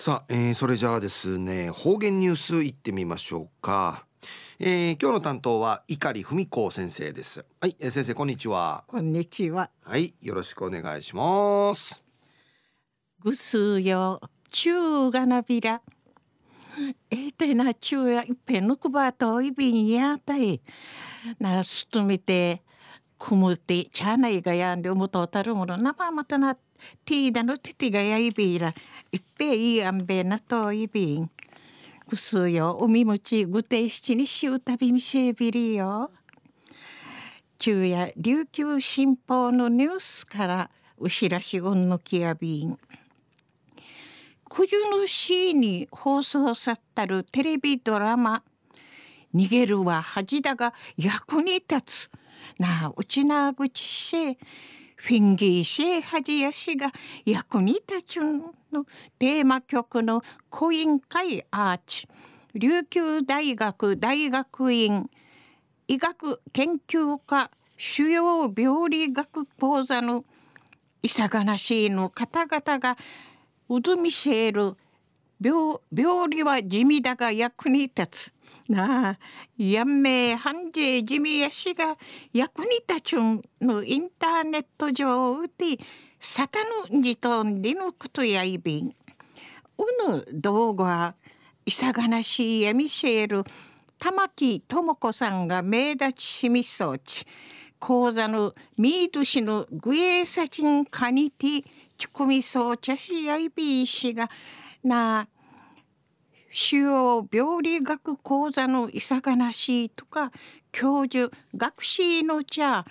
さあ、それじゃあですね、方言ニュースいってみましょうか。今日の担当は碇文子先生です。はい、先生こんにちは。 こんにちは。 はい、よろしくお願いします。 ぐすよ中がなびらてな中やいっぺんぬくばといびんやたいなすとみてくむてちゃないがやんでおもとたるものなまたなティーダのティティがやいびらいっぺいいあんべなといびんぐすよおみもちぐていしちにしゅうたびみせびりよ。中や琉球新報のニュースからうしらしうんぬきやびん九十の市に放送さったるテレビドラマ逃げるは恥だが役に立つなあうちなぐちしフィンギーシェ恥やしが役に立つのテーマ曲の講演会アーチ琉球大学大学院医学研究科主要病理学講座のいさがなしいの方々がうどみせる病理は地味だが役に立つなあやんめはんじ地味やしが役に立つのインターネット上でサタヌンジトンでのことやいびんうぬ動画はいさがなしいやみせる玉木智子さんが名立ちしみそうち講座のミード氏のグエーサチンカニティチュコミソーチャシアイビー氏がな主要病理学講座のいさがなしとか教授学士の茶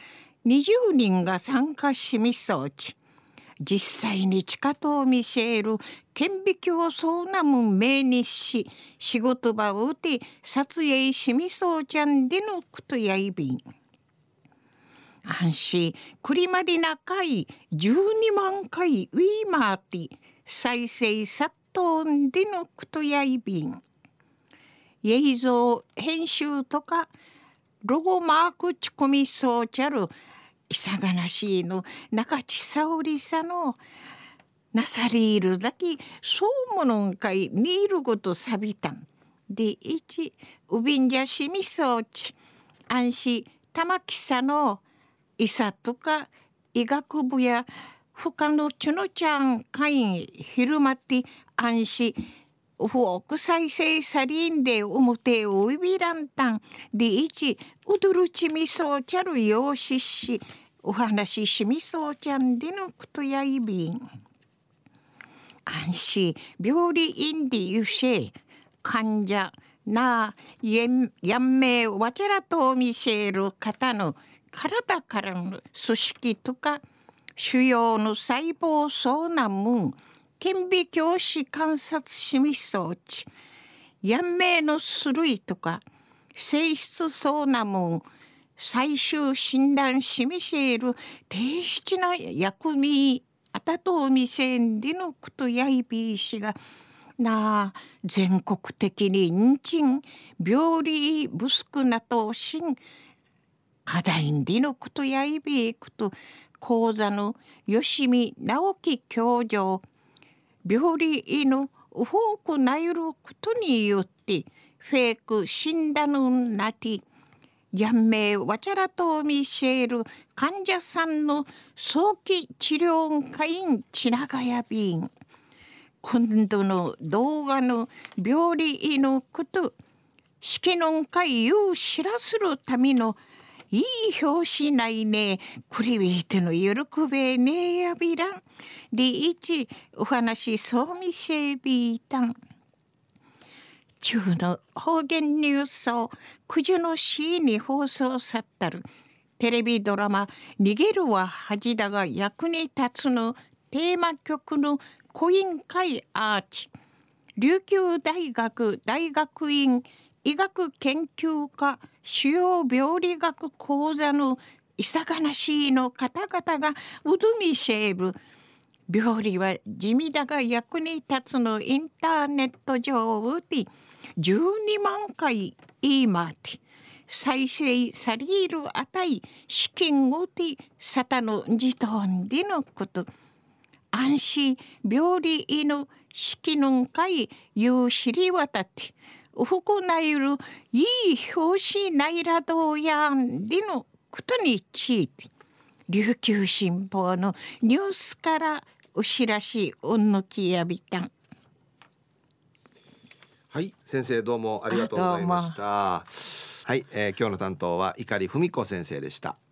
20人が参加しみそうち実際に地下と見せる顕微鏡そうなむ命日し仕事場をて撮影しみそうちゃんでのことやいびん安心クリマリナ回12万回ウィーマーティ再生殺到でのことやいびん映像編集とかロゴマークち込みそうちゃるいさがなしいの中地沙織さのなさりいるだけそうものんかいにいることさびたんで一うびんじゃしみそうち安心玉木さの医者とか医学部や他のちのちゃん会員昼間って安心フォーク再生サリンで表をいびらんたんで一うどるちみそうちゃるようししお話ししみそうちゃんでのことやいびん安心病理院でゆせ患者なやんめわちゃらと見せる方の体からの組織とか腫瘍の細胞そうなもん顕微鏡視観察しみそうちやんめの種類とか性質そうなもん最終診断しみせる低質な薬味あたとみせんでのことやいびいしがなあ全国的にんちん病理不足なとしん課題でのことやいびいこと講座の吉見直樹教授病理のフォークなゆることによってフェイク死んだのなてやんめわちゃらと見せる患者さんの早期治療会員ちながやびん今度の動画の病理のこと式の会を知らするためのいい表紙ないねクリビーテの喜べねやびらんで一お話そうみせびいたん中の方言ニュースを九十の市に放送さったるテレビドラマ逃げるは恥だが役に立つのテーマ曲の講演会アーチ琉球大学大学院医学研究科主要病理学講座のいさがなしいの方々がうどみせる病理は地味だが役に立つのインターネット上で12万回言いまって再生されるあたい資金をてサタの自動でのこと安心病理の式の会ゆう知り渡ってふくなゆるいい表紙ないらどうやんでのことについて琉球新報のニュースからお知らしうんのきやびたん。 はい、先生どうもありがとうございました。はい、今日の担当は碇文子先生でした。